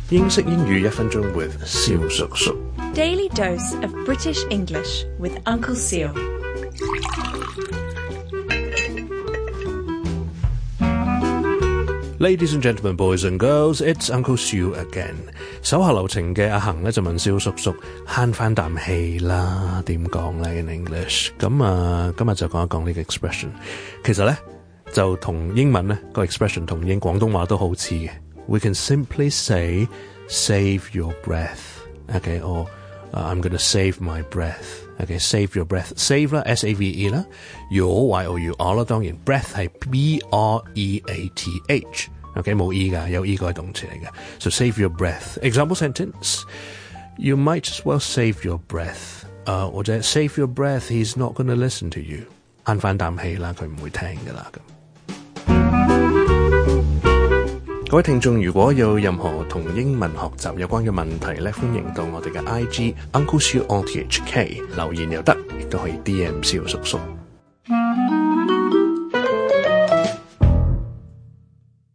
英式英語1分鐘 with 蕭叔叔。 Daily dose of British English with Uncle Seal. Ladies and gentlemen, boys and girls, it's Uncle Siu again. 手下留情嘅阿恒咧就問蕭叔叔慳翻啖氣啦，點講咧 in English？ 咁今日就講一講呢個 expression。其實咧就同英文咧個 expression 同廣東話都好似嘅。We can simply say save your breath, okay, or I'm going to save my breath. Okay, save your breath. Save 啦 S-A-V-E 啦 Your Y-O-U-R 啦，當然 breath 係 B-R-E-A-T-H Okay, 冇 E 㗎，有 E 個係動詞嚟嘅。So save your breath. Example sentence, You might as well save your breath. 或者 save your breath, he's not going to listen to you. 慳返啖氣啦，佢唔會聽㗎啦咁。各位聽眾，如果有任何同英文學習有關嘅問題咧，歡迎到我哋嘅 IG Uncle Siu on THK 留言又得，亦都可以 DM 蕭叔叔。